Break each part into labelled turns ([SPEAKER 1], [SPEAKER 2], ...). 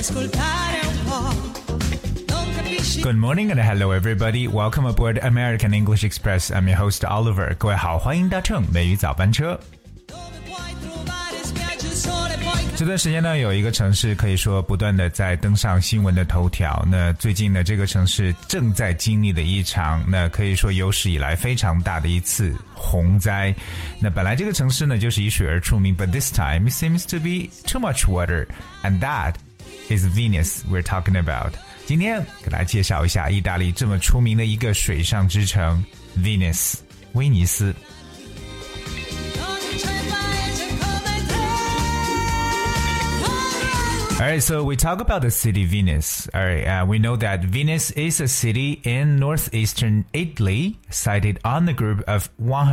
[SPEAKER 1] Good morning and hello everybody. Welcome aboard American English Express. I'm your host Oliver. 各位好，欢迎搭乘美语早班车。这段时间呢，有一个城市可以说不断的在登上新闻的头条。那最近呢，这个城市正在经历的一场，那可以说有史以来非常大的一次洪灾。那本来这个城市呢，就是以水而出名 ，but this time it seems to be too much water, and that is Venice we're talking about. 今天给大家介绍一下意大利这么出名的一个水上之城 Venice 威尼斯。Alright, so we talk about the city Venice. Alright, we know that Venice is a city in northeastern Italy, sited on the group of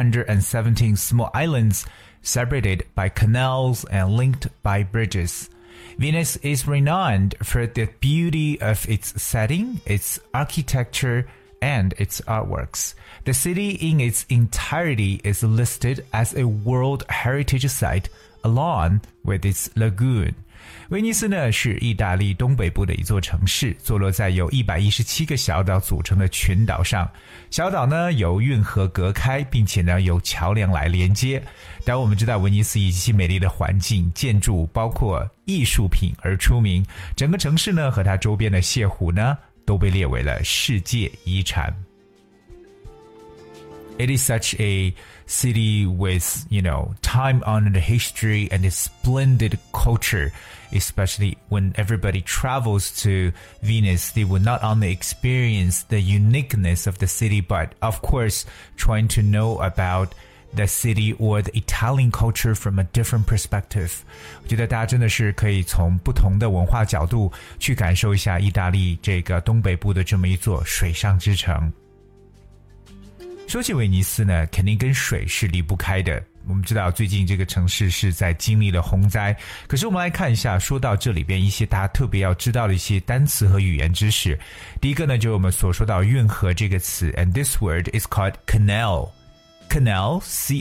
[SPEAKER 1] 117 small islands separated by canals and linked by bridges. Venice is renowned for the beauty of its setting, its architecture, and its artworks. The city in its entirety is listed as a World Heritage Site along with its lagoon. 威尼斯呢是意大利东北部的一座城市，坐落在由117个小岛组成的群岛上。小岛呢由运河隔开，并且呢由桥梁来连接。当然我们知道威尼斯以其美丽的环境、建筑包括艺术品而出名，整个城市呢和它周边的泻湖呢都被列为了世界遗产。It is such a city with, time-honored history and a splendid culture, especially when everybody travels to Venice. They will not only experience the uniqueness of the city, but of course, trying to know about the city or the Italian culture from a different perspective. 我觉得大家真的是可以从不同的文化角度去感受一下意大利这个东北部的这么一座水上之城。说起威尼斯呢，肯定跟水是离不开的。我们知道最近这个城市是在经历了洪灾，可是我们来看一下，说到这里边一些大家特别要知道的一些单词和语言知识。第一个呢，就是我们所说到运河这个词 ，and this word is called canal. Canal,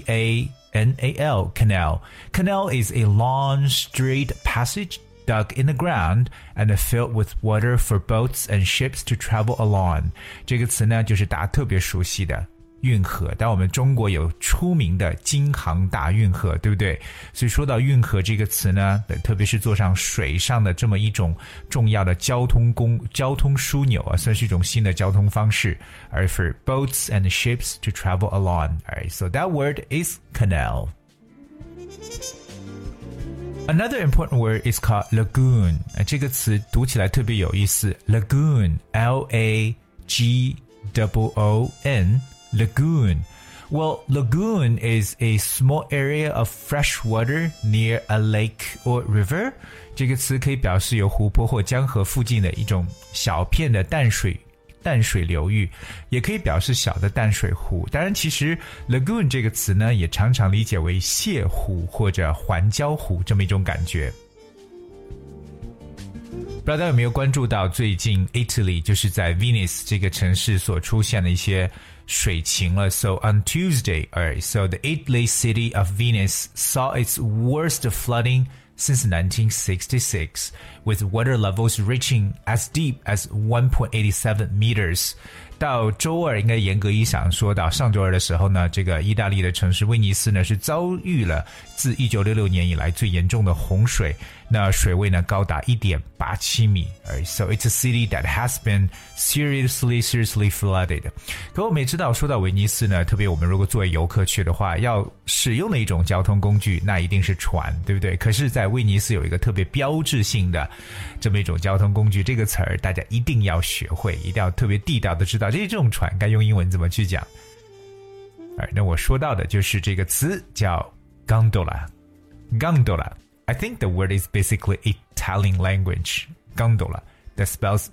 [SPEAKER 1] C-A-N-A-L, canal. Canal is a long, straight passage dug in the ground and filled with water for boats and ships to travel along. 这个词呢，就是大家特别熟悉的运河，但我们中国有出名的京杭大运河，对不对？所以说到运河这个词呢，特别是坐上水上的这么一种重要的交通枢纽啊，算是一种新的交通方式。而 for boats and ships to travel along. Alright, so that word is canal. Another important word is called lagoon. 这个词读起来特别有意思 lagoon, L-A-G-O-O-N.Lagoon. Well, lagoon is a small area of fresh water near a lake or river. 这个词可以表示有湖泊或江河附近的一种小片的淡水流域，也可以表示小的淡水湖。当然，其实 lagoon 这个词呢，也常常理解为泻湖或者环礁湖这么一种感觉。不知道大家有没有关注到最近 Italy 就是在 Venice 这个城市所出现的一些水情了。So on Tuesday, so the Italy city of Venice saw its worst flooding since 1966, with water levels reaching as deep as 1.87 meters. 到周二，应该严格意义上说到上周二的时候呢，这个意大利的城市威尼斯呢是遭遇了自1966年以来最严重的洪水，那水位呢高达 1.87 米。So it's a city that has been seriously flooded. 可我们也知道，说到威尼斯呢，特别我们如果作为游客去的话，要使用的一种交通工具，那一定是船，对不对？可是在威尼斯有一个特别标志性的这么一种交通工具，这个词儿大家一定要学会，一定要特别地道的知道这种船该用英文怎么去讲。那我说到的就是这个词叫 gondola. I think the word is basically Italian language. Gondola. That spells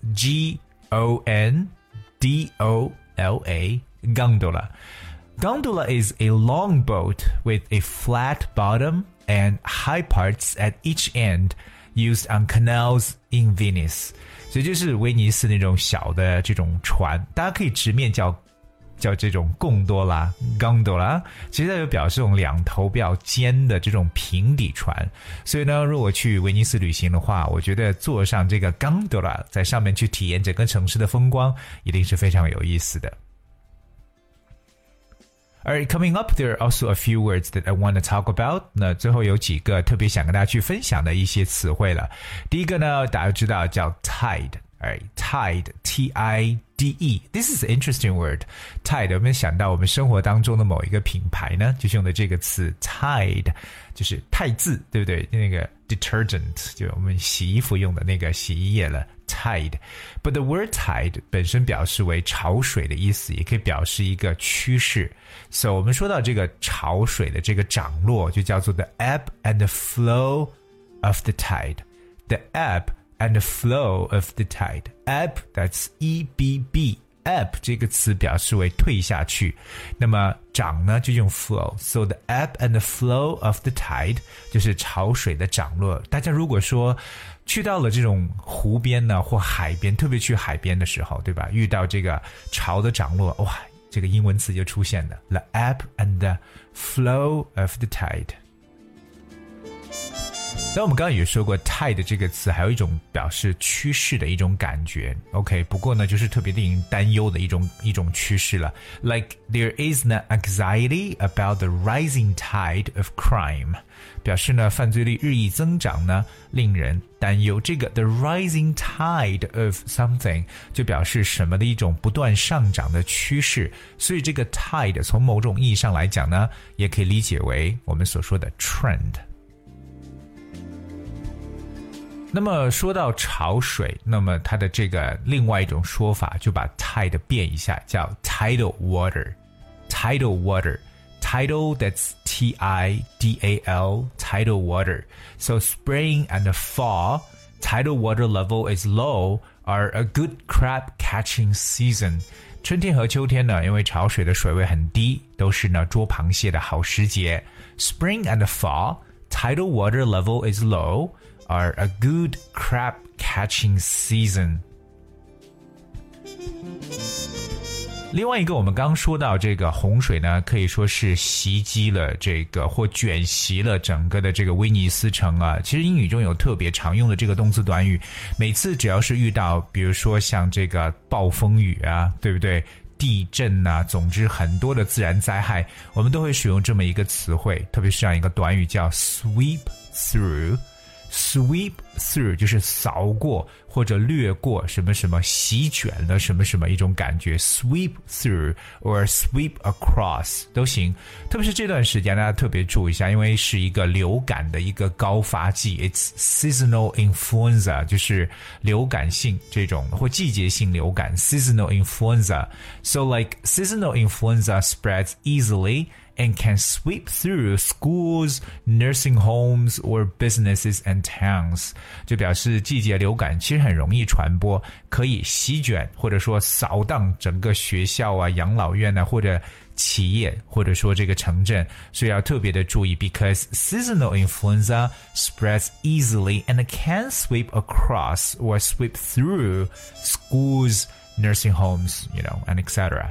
[SPEAKER 1] G-O-N-D-O-L-A. Gondola. Gondola is a long boat with a flat bottom and high parts at each end used on canals in Venice. 所以就是威尼斯那种小的这种船，大家可以直面叫叫这种贡多拉 gondola， 其实它就表示这种两头比较尖的这种平底船。所以呢，如果去威尼斯旅行的话，我觉得坐上这个 gondola 在上面去体验整个城市的风光，一定是非常有意思的。Alright, coming up, there are also a few words that I want to talk about. 那最后有几个特别想跟大家去分享的一些词汇了。第一个呢，大家知道叫 tide。Alright, tide, T-I-D-E. This is an interesting word. Tide, 我们想到我们生活当中的某一个品牌呢，就是用的这个词 Tide， 就是汰渍，对不对？那个 detergent， 就我们洗衣服用的那个洗衣液了。Tide, but the word tide 本身表示为潮水的意思，也可以表示一个趋势。So 我们说到这个潮水的这个涨落，就叫做 the ebb and the flow of the tide. The ebb and the flow of the tide. Ebb, that's E-B-B. Ebb 这个词表示为退下去，那么涨呢就用 flow. So the ebb and the flow of the tide 就是潮水的涨落。大家如果说去到了这种湖边呢或海边，特别去海边的时候，对吧？遇到这个潮的涨落，哇，这个英文词就出现了 The ebb and the flow of the tide。那我们刚刚也说过 tide 这个词还有一种表示趋势的一种感觉 OK， 不过呢就是特别令人担忧的一种趋势了 Like there is an anxiety about the rising tide of crime， 表示呢犯罪率日益增长呢令人担忧。这个 the rising tide of something 就表示什么的一种不断上涨的趋势，所以这个 tide 从某种意义上来讲呢也可以理解为我们所说的 trend。那么说到潮水，那么它的这个另外一种说法就把 tide 变一下，叫 tidal water. Tidal water. Tidal, that's T-I-D-A-L, tidal water. So spring and fall, tidal water level is low, are a good crab catching season. 春天和秋天呢，因为潮水的水位很低，都是呢捉螃蟹的好时节。Spring and fall, tidal water level is low,are a good crab catching season. 另外一个我们刚说到这个洪水呢，可以说是袭击了这个或卷袭了整个的这个威尼斯城啊。其实英语中有特别常用的这个动词短语，每次只要是遇到比如说像这个暴风雨啊，对不对？地震啊，总之很多的自然灾害，我们都会使用这么一个词汇，特别是这样一个短语叫 sweep through。Sweep through 就是扫过或者掠过什么什么，席卷了什么什么一种感觉 Sweep through or sweep across 都行。特别是这段时间大家特别注意一下，因为是一个流感的一个高发季 It's seasonal influenza 就是流感性这种或季节性流感 Seasonal influenza So like seasonal influenza spreads easily and can sweep through schools, nursing homes, or businesses and towns. 就表示季节流感其实很容易传播，可以席卷或者说扫荡整个学校啊、养老院啊，或者企业，或者说这个城镇。所以要特别的注意 because seasonal influenza spreads easily and can sweep across or sweep through schools, nursing homes, and etc.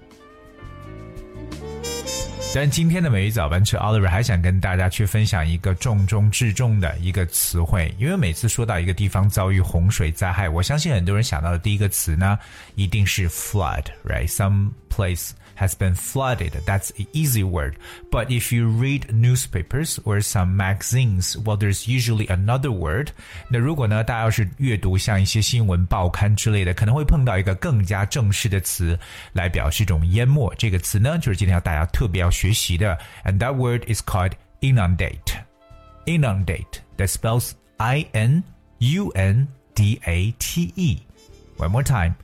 [SPEAKER 1] 但今天的每日早班车 Oliver 还想跟大家去分享一个重中之重的一个词汇，因为每次说到一个地方遭遇洪水灾害，我相信很多人想到的第一个词呢一定是 flood, right? Some place has been flooded. That's an easy word. But if you read newspapers or some magazines, well, there's usually another word. 那如果呢，大家要是阅读像一些新闻报刊之类的，可能会碰到一个更加正式的词来表示一种淹没。这个词呢，就是今天要大家特别要学习的。And that word is called inundate. Inundate. That spells I-N-U-N-D-A-T-E. One more time.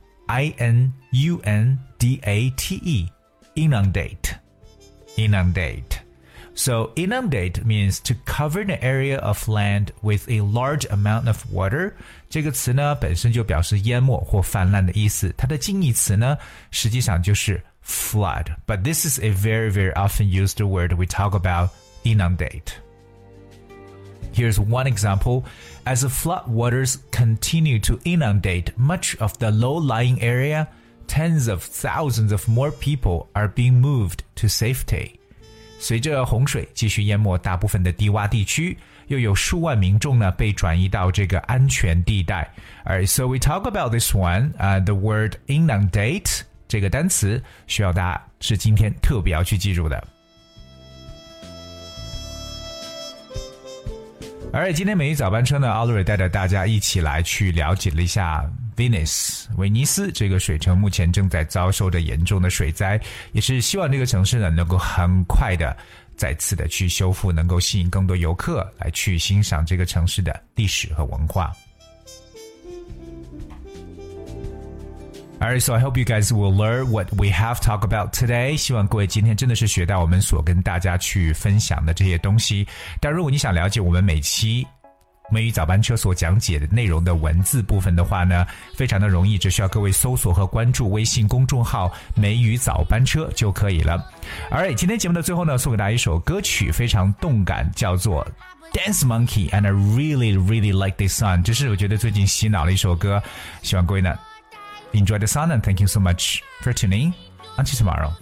[SPEAKER 1] I-N-U-N-D-A-T-E. Inundate. Inundate. So inundate means to cover an area of land with a large amount of water. 这个词呢本身就表示淹没或泛滥的意思，它的近义词呢实际上就是 flood. But this is a very, very often used word we talk about inundate. Here's one example. As the flood waters continue to inundate much of the low-lying area, tens of thousands of more people are being moved to safety. 随着洪水继续淹没大部分的低洼地区，又有数万民众呢被转移到这个安全地带。Alright, so we talk about this one, the word inundate 这个单词需要大家是今天特别要去记住的。Alright, 今天每日早班车呢 Oliver 带着大家一起来去了解了一下 Venice 威尼斯这个水城目前正在遭受着严重的水灾，也是希望这个城市呢能够很快的再次的去修复，能够吸引更多游客来去欣赏这个城市的历史和文化。Alright, so I hope you guys will learn what we have talked about today. 希望各位今天真的是学到我们所跟大家去分享的这些东西。但如果你想了解我们每期美语早班车所讲解的内容的文字部分的话呢，非常的容易，只需要各位搜索和关注微信公众号美语早班车就可以了。Alright, 今天节目的最后呢，送给大家一首歌曲，非常动感，叫做Dance Monkey, and I really, really like this song. 这是我觉得最近洗脑的一首歌，希望各位呢Enjoy the song and thank you so much for tuning. Until tomorrow.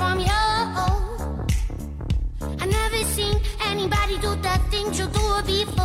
[SPEAKER 1] Anybody do the things you do before.